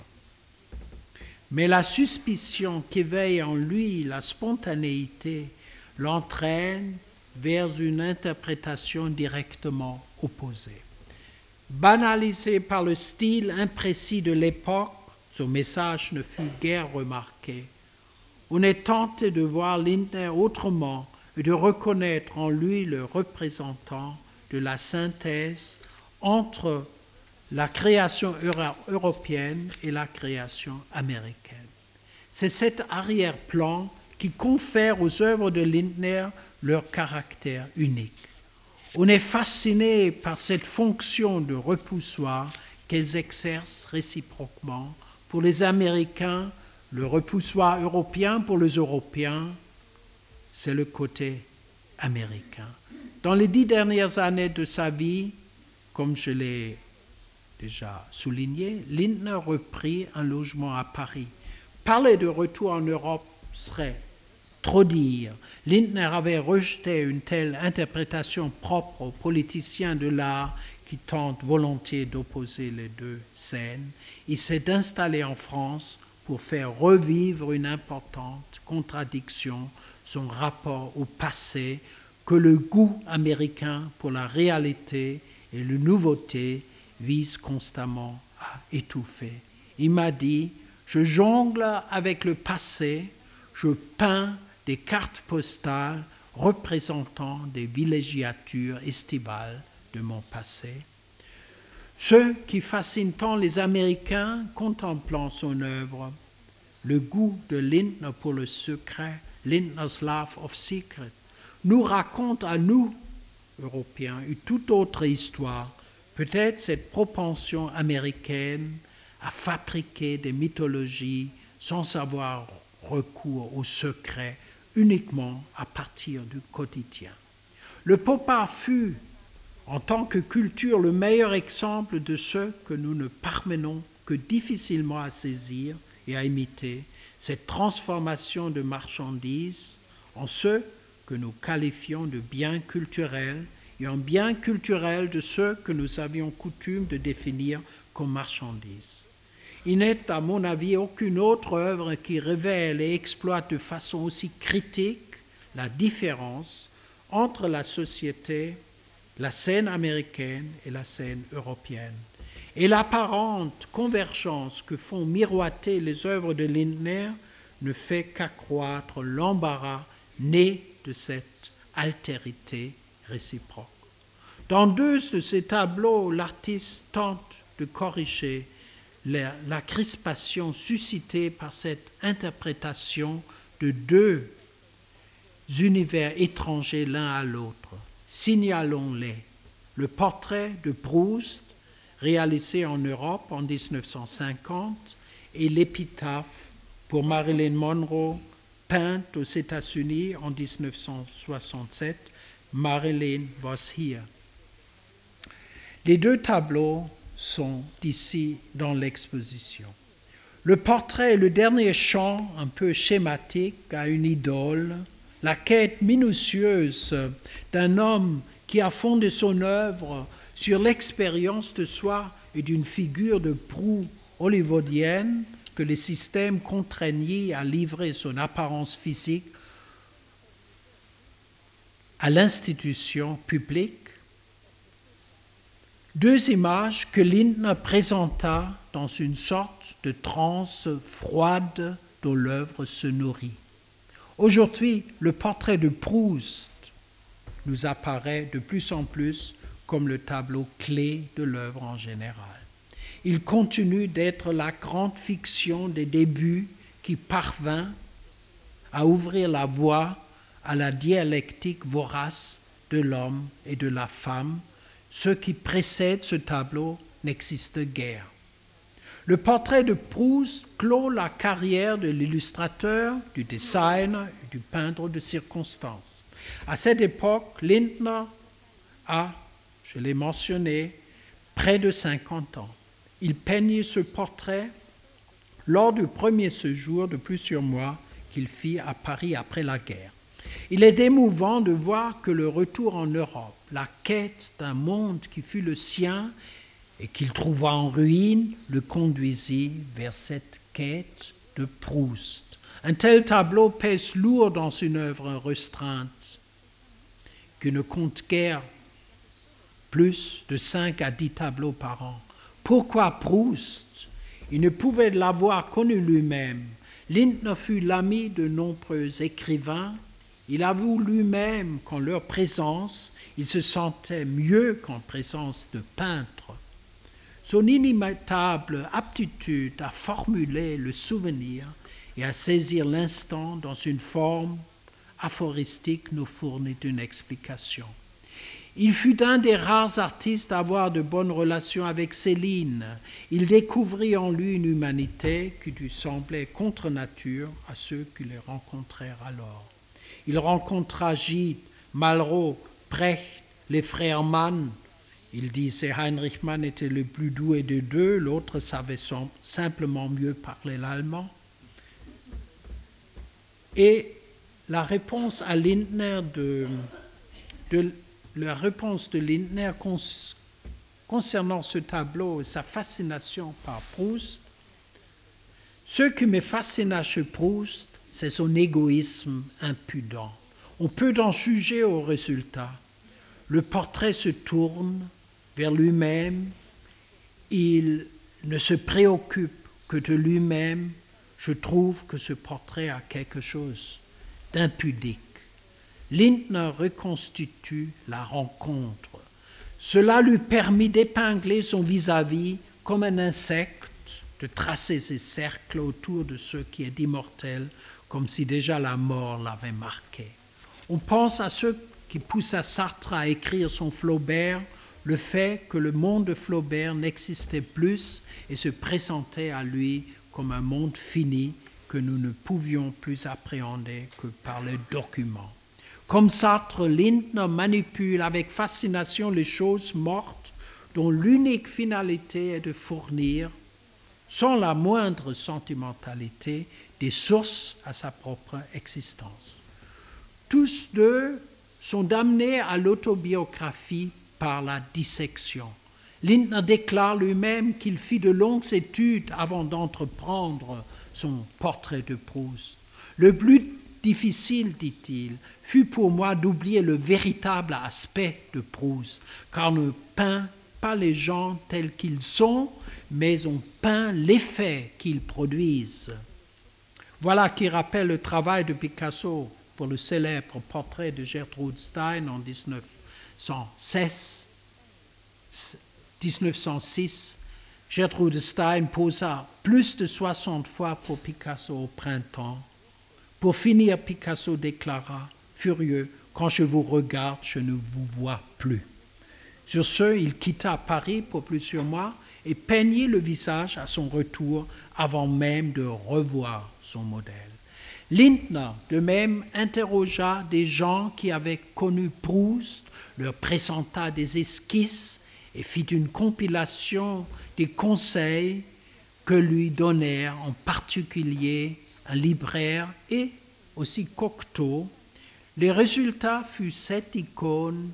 Mais la suspicion qu'éveille en lui la spontanéité l'entraîne vers une interprétation directement opposée. Banalisé par le style imprécis de l'époque, son message ne fut guère remarqué. On est tenté de voir Lindner autrement et de reconnaître en lui le représentant de la synthèse entre la création européenne et la création américaine. C'est cet arrière-plan qui confère aux œuvres de Lindner leur caractère unique. On est fasciné par cette fonction de repoussoir qu'elles exercent réciproquement. Pour les Américains, le repoussoir européen, pour les Européens, c'est le côté américain. Dans les 10 dernières années de sa vie, comme je l'ai déjà souligné, Lindner reprit un logement à Paris. Parler de retour en Europe serait trop dire. Lindner avait rejeté une telle interprétation propre aux politiciens de l'art qui tentent volontiers d'opposer les deux scènes. Il s'est installé en France pour faire revivre une importante contradiction, son rapport au passé, que le goût américain pour la réalité et la nouveauté vise constamment à étouffer. Il m'a dit « Je jongle avec le passé, je peins des cartes postales représentant des villégiatures estivales de mon passé. » Ce qui fascine tant les Américains contemplant son œuvre, le goût de Lindner pour le secret, Lindner's Life of Secret, nous raconte à nous, Européens, une toute autre histoire, peut-être cette propension américaine à fabriquer des mythologies sans avoir recours au secret uniquement à partir du quotidien. Le pop art fut, en tant que culture, le meilleur exemple de ce que nous ne parvenons que difficilement à saisir et à imiter, cette transformation de marchandises en ce que nous qualifions de biens culturels et en biens culturels de ceux que nous avions coutume de définir comme marchandises. Il n'est, à mon avis, aucune autre œuvre qui révèle et exploite de façon aussi critique la différence entre la société, la scène américaine et la scène européenne, et l'apparente convergence que font miroiter les œuvres de Lindner ne fait qu'accroître l'embarras né de cette altérité réciproque. Dans deux de ces tableaux, l'artiste tente de corriger la crispation suscitée par cette interprétation de deux univers étrangers l'un à l'autre. Signalons-les. Le portrait de Proust, réalisé en Europe en 1950, et l'épitaphe pour Marilyn Monroe, peinte aux États-Unis en 1967, Marilyn was here. Les deux tableaux sont ici dans l'exposition. Le portrait est le dernier chant un peu schématique à une idole, la quête minutieuse d'un homme qui a fondé son œuvre sur l'expérience de soi et d'une figure de proue hollywoodienne que le système contraignit à livrer son apparence physique à l'institution publique. Deux images que Lindner présenta dans une sorte de transe froide dont l'œuvre se nourrit. Aujourd'hui, le portrait de Proust nous apparaît de plus en plus comme le tableau clé de l'œuvre en général. Il continue d'être la grande fiction des débuts qui parvint à ouvrir la voie à la dialectique vorace de l'homme et de la femme. Ce qui précède ce tableau n'existe guère. Le portrait de Proust clôt la carrière de l'illustrateur, du designer et du peintre de circonstance. À cette époque, Lindner a, je l'ai mentionné, près de 50 ans. Il peignit ce portrait lors du premier séjour de plusieurs mois qu'il fit à Paris après la guerre. Il est émouvant de voir que le retour en Europe, la quête d'un monde qui fut le sien et qu'il trouva en ruine, le conduisit vers cette quête de Proust. Un tel tableau pèse lourd dans une œuvre restreinte qui ne compte guère plus de 5 à 10 tableaux par an. Pourquoi Proust? Il ne pouvait l'avoir connu lui-même. Lindner fut l'ami de nombreux écrivains. Il avoue lui-même qu'en leur présence, il se sentait mieux qu'en présence de peintres. Son inimitable aptitude à formuler le souvenir et à saisir l'instant dans une forme aphoristique nous fournit une explication. Il fut un des rares artistes à avoir de bonnes relations avec Céline. Il découvrit en lui une humanité qui lui semblait contre nature à ceux qui les rencontrèrent alors. Il rencontra Gide, Malraux, Brecht, les frères Mann. Il disait Heinrich Mann était le plus doué des deux, l'autre savait simplement mieux parler l'allemand. Et la réponse à Lindner concernant ce tableau et sa fascination par Proust, ce qui me fascina chez Proust, c'est son égoïsme impudent. On peut en juger au résultat. Le portrait se tourne vers lui-même, il ne se préoccupe que de lui-même. Je trouve que ce portrait a quelque chose d'impudique. Lindner reconstitue la rencontre. Cela lui permit d'épingler son vis-à-vis comme un insecte, de tracer ses cercles autour de ce qui est immortel, comme si déjà la mort l'avait marqué. On pense à ce qui poussa Sartre à écrire son Flaubert, le fait que le monde de Flaubert n'existait plus et se présentait à lui comme un monde fini que nous ne pouvions plus appréhender que par les documents. Comme Sartre, Lindner manipule avec fascination les choses mortes dont l'unique finalité est de fournir, sans la moindre sentimentalité, des sources à sa propre existence. Tous deux sont damnés à l'autobiographie par la dissection. Lindner déclare lui-même qu'il fit de longues études avant d'entreprendre son portrait de Proust. Le plus difficile, dit-il, fut pour moi d'oublier le véritable aspect de Proust, car on ne peint pas les gens tels qu'ils sont, mais on peint l'effet qu'ils produisent. Voilà qui rappelle le travail de Picasso pour le célèbre portrait de Gertrude Stein en 1906. Gertrude Stein posa plus de 60 fois pour Picasso au printemps. Pour finir, Picasso déclara, furieux, « Quand je vous regarde, je ne vous vois plus. » Sur ce, il quitta Paris pour plusieurs mois et peignit le visage à son retour avant même de revoir son modèle. Lindner, de même, interrogea des gens qui avaient connu Proust, leur présenta des esquisses et fit une compilation des conseils que lui donnèrent en particulier un libraire et aussi Cocteau. Le résultat fut cette icône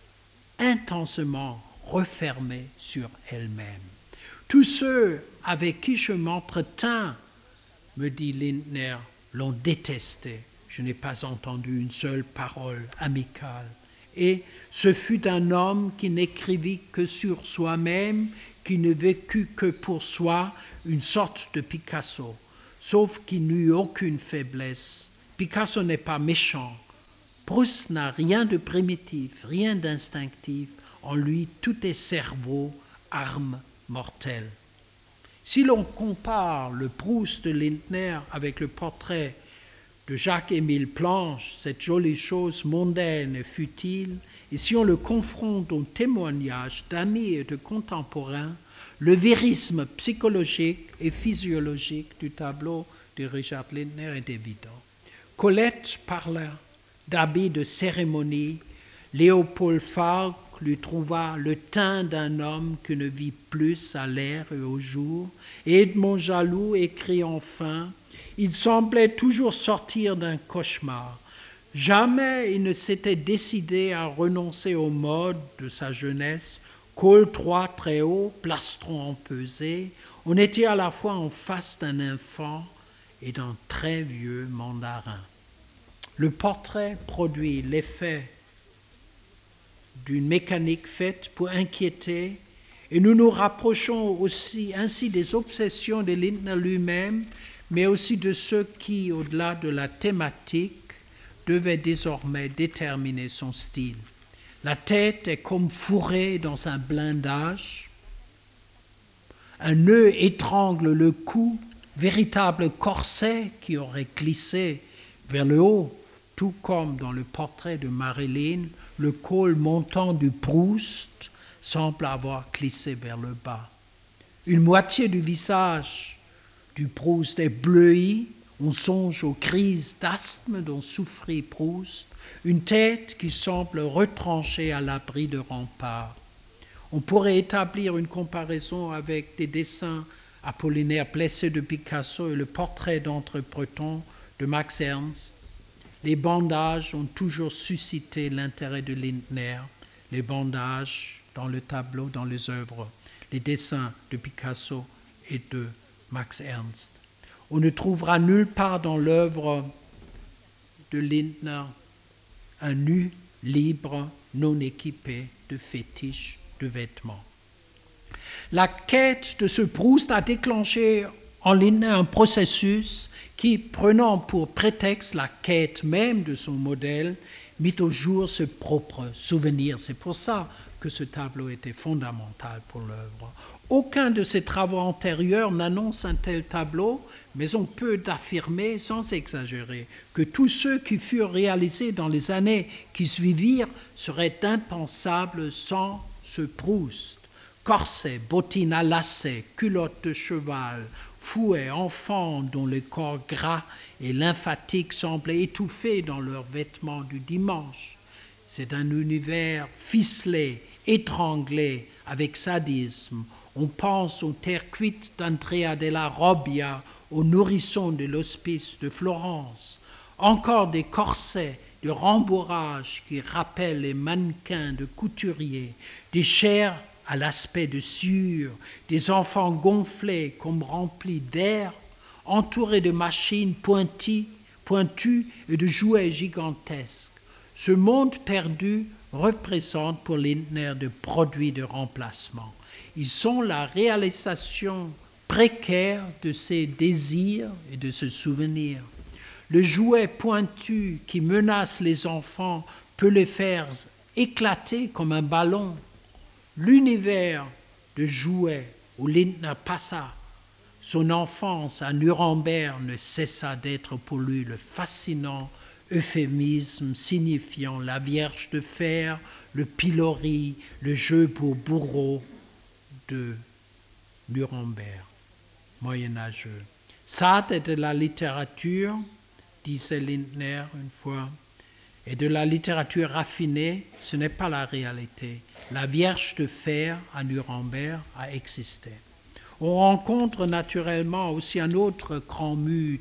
intensement refermée sur elle-même. Tous ceux avec qui je m'entretins, me dit Lindner, l'ont détesté. Je n'ai pas entendu une seule parole amicale. Et ce fut un homme qui n'écrivit que sur soi-même, qui ne vécut que pour soi, une sorte de Picasso, sauf qu'il n'eut aucune faiblesse. Picasso n'est pas méchant. Proust n'a rien de primitif, rien d'instinctif. En lui, tout est cerveau, arme mortelle. Si l'on compare le Proust de Lindner avec le portrait de Jacques-Émile Planche, cette jolie chose mondaine et futile, et si on le confronte aux témoignages d'amis et de contemporains, le vérisme psychologique et physiologique du tableau de Richard Lindner est évident. Colette parla d'habits de cérémonie, Léopold Falk lui trouva le teint d'un homme qui ne vit plus à l'air et au jour, et Edmond Jaloux écrit enfin « Il semblait toujours sortir d'un cauchemar. Jamais il ne s'était décidé à renoncer aux modes de sa jeunesse, col droit très haut, plastron empesé. On était à la fois en face d'un enfant et d'un très vieux mandarin. » Le portrait produit l'effet d'une mécanique faite pour inquiéter, et nous nous rapprochons aussi ainsi des obsessions de Lindner lui-même, mais aussi de ceux qui, au-delà de la thématique, devaient désormais déterminer son style. La tête est comme fourrée dans un blindage, un nœud étrangle le cou, véritable corset qui aurait glissé vers le haut, tout comme dans le portrait de Marilyn, le col montant du Proust semble avoir glissé vers le bas. Une moitié du visage du Proust est bleuie, on songe aux crises d'asthme dont souffrit Proust, une tête qui semble retranchée à l'abri de remparts. On pourrait établir une comparaison avec des dessins apollinaires blessés de Picasso et le portrait d'Entre-Breton de Max Ernst. Les bandages ont toujours suscité l'intérêt de Lindner, les bandages dans le tableau, dans les œuvres, les dessins de Picasso et de Max Ernst. On ne trouvera nulle part dans l'œuvre de Lindner un nu libre, non équipé de fétiches de vêtements. La quête de ce Proust a déclenché en Lindner un processus qui, prenant pour prétexte la quête même de son modèle, mit au jour ses propres souvenirs. C'est pour ça que ce tableau était fondamental pour l'œuvre. Aucun de ses travaux antérieurs n'annonce un tel tableau, mais on peut affirmer, sans exagérer, que tous ceux qui furent réalisés dans les années qui suivirent seraient impensables sans ce Proust. Corset, bottines à lacets, culottes de cheval, fouets, enfants dont le corps gras et lymphatique semblaient étouffés dans leurs vêtements du dimanche. C'est un univers ficelé, étranglé, avec sadisme. On pense aux terres cuites d'Andrea della Robbia, aux nourrissons de l'hospice de Florence. Encore des corsets de rembourrage qui rappellent les mannequins de couturiers, des chairs à l'aspect de sueur, des enfants gonflés comme remplis d'air, entourés de machines pointues et de jouets gigantesques. Ce monde perdu représente pour Lindner des produits de remplacement. Ils sont la réalisation précaire de ses désirs et de ses souvenirs. Le jouet pointu qui menace les enfants peut les faire éclater comme un ballon. L'univers de jouets où Lindner passa son enfance à Nuremberg ne cessa d'être pour lui le fascinant euphémisme signifiant la Vierge de fer, le pilori, le jeu pour bourreau de Nuremberg, moyenâgeux. Ça est de la littérature, disait Lindner une fois, et de la littérature raffinée, ce n'est pas la réalité. La Vierge de fer à Nuremberg a existé. On rencontre naturellement aussi un autre grand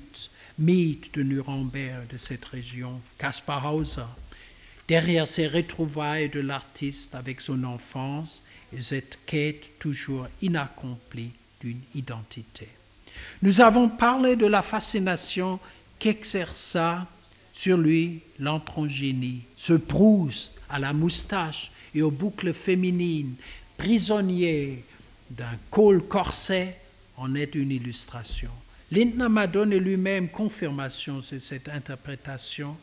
mythe de Nuremberg, de cette région, Caspar Hauser. Derrière ces retrouvailles de l'artiste avec son enfance et cette quête toujours inaccomplie d'une identité. Nous avons parlé de la fascination qu'exerça sur lui l'androgynie, ce Proust à la moustache et aux boucles féminines, prisonnier d'un col corset, en est une illustration. Lindner m'a donné lui-même confirmation sur cette interprétation.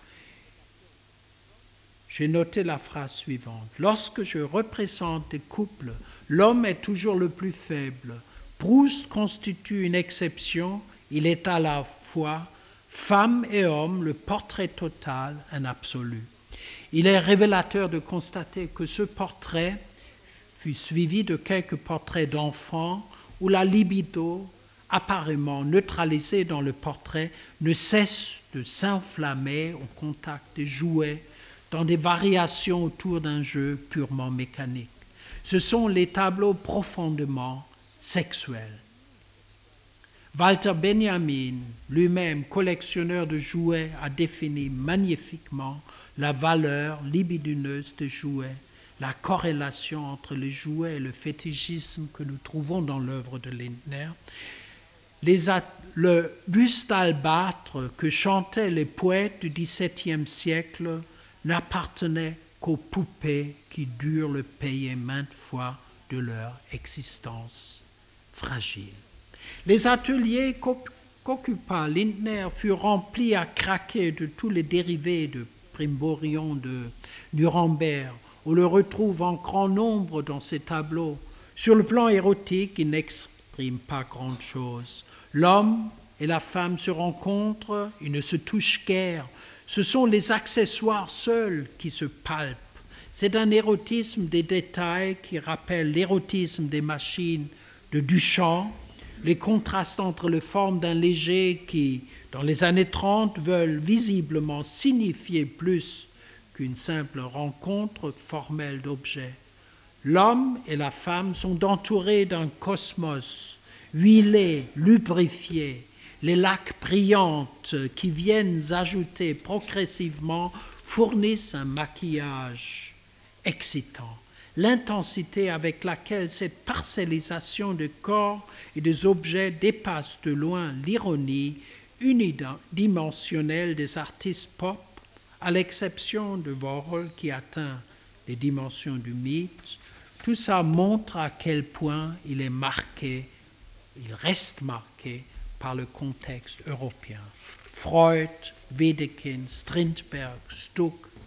J'ai noté la phrase suivante. Lorsque je représente des couples, l'homme est toujours le plus faible. Proust constitue une exception. Il est à la fois femme et homme, le portrait total, un absolu. Il est révélateur de constater que ce portrait fut suivi de quelques portraits d'enfants où la libido, apparemment neutralisée dans le portrait, ne cesse de s'enflammer au contact des jouets dans des variations autour d'un jeu purement mécanique. Ce sont les tableaux profondément sexuels. Walter Benjamin, lui-même collectionneur de jouets, a défini magnifiquement la valeur libidineuse des jouets, la corrélation entre les jouets et le fétichisme que nous trouvons dans l'œuvre de Lindner. Le buste d'albâtre que chantaient les poètes du XVIIe siècle n'appartenait qu'aux poupées qui durent le payer maintes fois de leur existence fragile. Les ateliers qu'occupa Lindner furent remplis à craquer de tous les dérivés de Brimborion de Nuremberg. On le retrouve en grand nombre dans ses tableaux. Sur le plan érotique, il n'exprime pas grand-chose. L'homme et la femme se rencontrent, ils ne se touchent guère. Ce sont les accessoires seuls qui se palpent. C'est un érotisme des détails qui rappelle l'érotisme des machines de Duchamp, les contrastes entre les formes d'un léger qui, dans les années 30, veulent visiblement signifier plus qu'une simple rencontre formelle d'objets. L'homme et la femme sont entourés d'un cosmos huilé, lubrifié. Les lacs brillantes qui viennent ajouter progressivement fournissent un maquillage excitant. L'intensité avec laquelle cette parcellisation de corps et des objets dépasse de loin l'ironie unidimensionnelle des artistes pop, à l'exception de Warhol qui atteint les dimensions du mythe. Tout ça montre à quel point il est marqué, il reste marqué par le contexte européen. Freud, Wedekind, Strindberg, Stuck,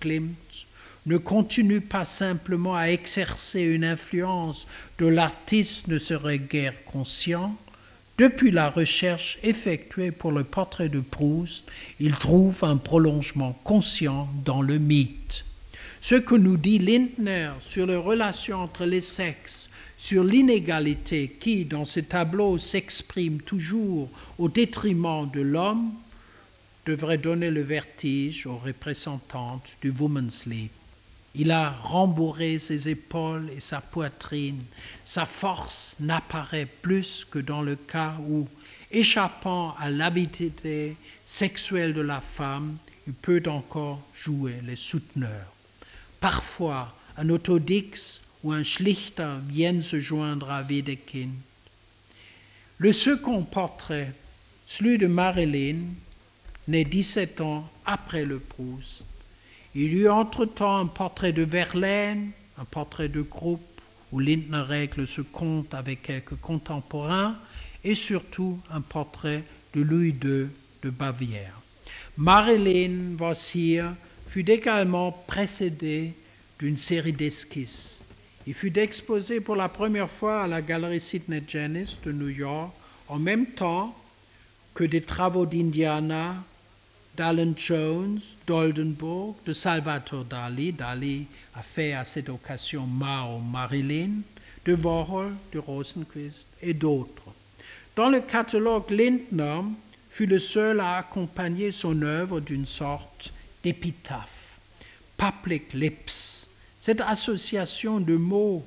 Klimt ne continue pas simplement à exercer une influence dont l'artiste ne serait guère conscient. Depuis la recherche effectuée pour le portrait de Proust, il trouve un prolongement conscient dans le mythe. Ce que nous dit Lindner sur les relations entre les sexes, sur l'inégalité qui, dans ce tableau, s'exprime toujours au détriment de l'homme, devrait donner le vertige aux représentantes du Women's League. Il a rembourré ses épaules et sa poitrine. Sa force n'apparaît plus que dans le cas où, échappant à l'avidité sexuelle de la femme, il peut encore jouer les souteneurs. Parfois, un Autodix ou un Schlichter viennent se joindre à Wedekind. Le second portrait, celui de Marilyn, né 17 ans après le Proust. Il y eut entre-temps un portrait de Verlaine, un portrait de groupe où Lindner règle ce compte avec quelques contemporains et surtout un portrait de Louis II de Bavière. Marilyn Vossier fut également précédé d'une série d'esquisses. Il fut exposé pour la première fois à la galerie Sidney Janis de New York en même temps que des travaux d'Indiana, d'Alan Jones, d'Oldenburg, de Salvatore Dali. Dali a fait à cette occasion Marilyn, de Warhol, de Rosenquist et d'autres. Dans le catalogue, Lindner fut le seul à accompagner son œuvre d'une sorte d'épitaphe, public lips. Cette association de mots,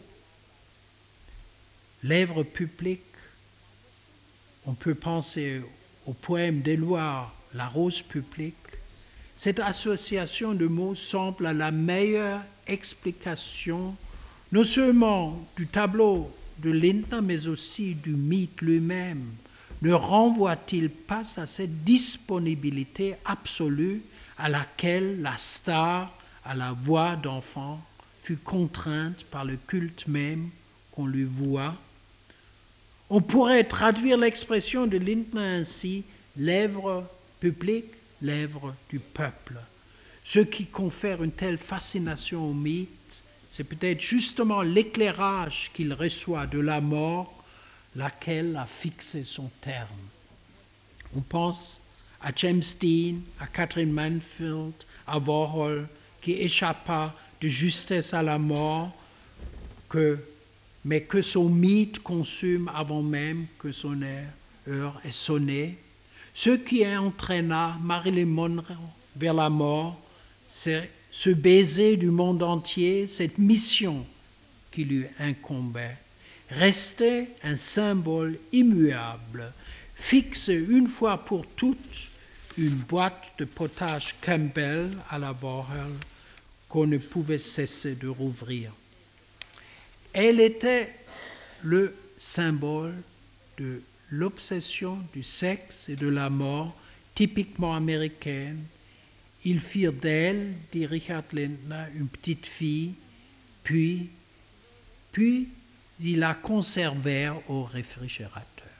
lèvres publiques, on peut penser au poème d'Éluard, La rose publique. Cette association de mots semble la meilleure explication non seulement du tableau de Lindner, mais aussi du mythe lui-même. Ne renvoie-t-il pas à cette disponibilité absolue à laquelle la star à la voix d'enfant fut contrainte par le culte même qu'on lui voua? On pourrait traduire l'expression de Lindner ainsi: lèvres publiques, lèvres du peuple. Ce qui confère une telle fascination au mythe, c'est peut-être justement l'éclairage qu'il reçoit de la mort, laquelle a fixé son terme. On pense à James Dean, à Catherine Mansfield, à Warhol, qui échappa de justesse à la mort, mais que son mythe consume avant même que son heure ait sonné. Ce qui entraîna Marilyn Monroe vers la mort, c'est ce baiser du monde entier, cette mission qui lui incombait. Restait un symbole immuable, fixe une fois pour toutes, une boîte de potage Campbell à la Warhol qu'on ne pouvait cesser de rouvrir. Elle était le symbole de l'obsession du sexe et de la mort typiquement américaine. Ils firent d'elle, dit Richard Lindner, une petite fille, puis ils la conservèrent au réfrigérateur.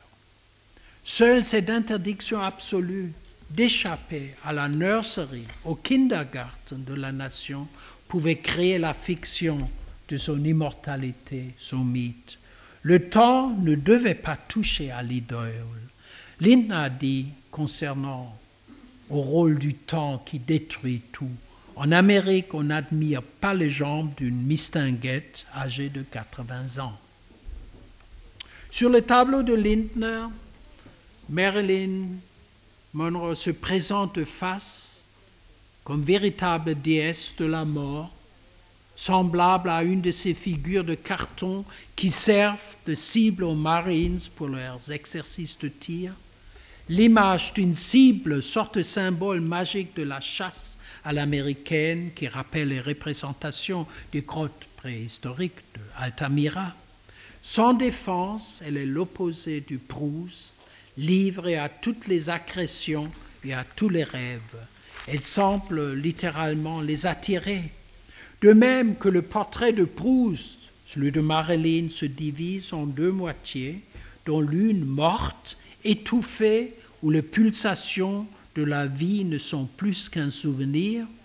Seule cette interdiction absolue d'échapper à la nursery, au kindergarten de la nation, pouvait créer la fiction de son immortalité, son mythe. Le temps ne devait pas toucher à l'idole. Lindner a dit concernant au rôle du temps qui détruit tout: en Amérique, on n'admire pas les jambes d'une mistinguette âgée de 80 ans. Sur le tableau de Lindner, Marilyn Monroe se présente face comme véritable déesse de la mort, semblable à une de ces figures de carton qui servent de cible aux Marines pour leurs exercices de tir. L'image d'une cible, sorte de symbole magique de la chasse à l'américaine qui rappelle les représentations des grottes préhistoriques de Altamira. Sans défense, elle est l'opposé du Proust, livrée à toutes les agressions et à tous les rêves. Elle semble littéralement les attirer. De même que le portrait de Proust, celui de Marilyn, se divise en deux moitiés, dont l'une morte, étouffée, où les pulsations de la vie ne sont plus qu'un souvenir.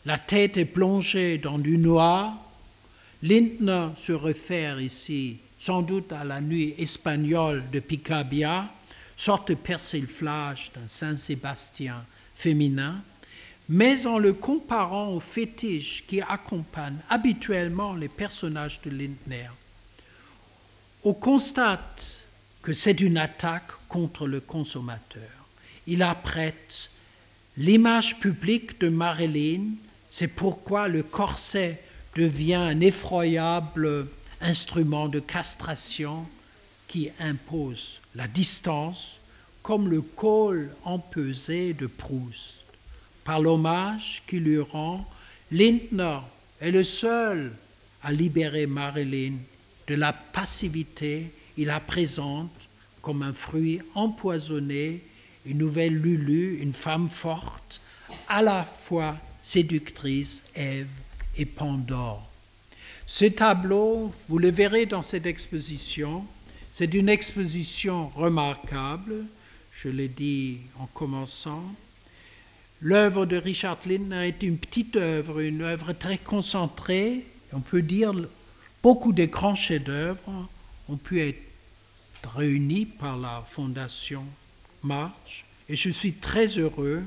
la tête est plongée dans du noir. Lindner se réfère ici sans doute à la nuit espagnole de Picabia, sorte de persiflage d'un Saint-Sébastien féminin, mais en le comparant aux fétiches qui accompagnent habituellement les personnages de Lindner. On constate que c'est une attaque contre le consommateur. Il apprête l'image publique de Marilyn, c'est pourquoi le corset devient un effroyable instrument de castration qui impose la distance, comme le col empesé de Proust. Par l'hommage qu'il lui rend, Lindner est le seul à libérer Marilyn de la passivité. Il la présente comme un fruit empoisonné, une nouvelle Lulu, une femme forte, à la fois séductrice, Ève et Pandore. Ce tableau, vous le verrez dans cette exposition, c'est une exposition remarquable, je l'ai dit en commençant. L'œuvre de Richard Lindner est une petite œuvre, une œuvre très concentrée. On peut dire beaucoup de grands chefs-d'œuvre ont pu être réunis par la Fondation March. Et je suis très heureux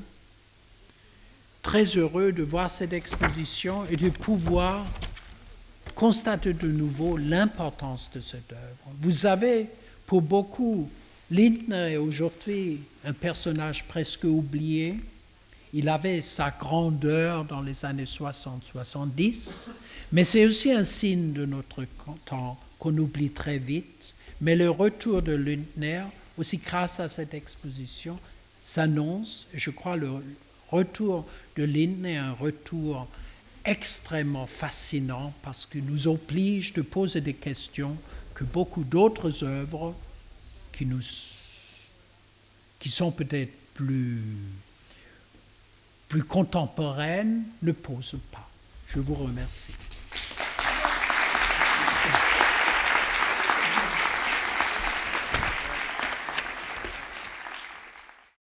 de voir cette exposition et de pouvoir constater de nouveau l'importance de cette œuvre. Vous avez, pour beaucoup, Lindner est aujourd'hui un personnage presque oublié. Il avait sa grandeur dans les années 60-70, mais c'est aussi un signe de notre temps qu'on oublie très vite. Mais le retour de Lindner, aussi grâce à cette exposition, s'annonce. Je crois le retour de Lindner est un retour extrêmement fascinant parce qu'il nous oblige de poser des questions que beaucoup d'autres œuvres qui sont peut-être plus contemporaines ne posent pas. Je vous remercie.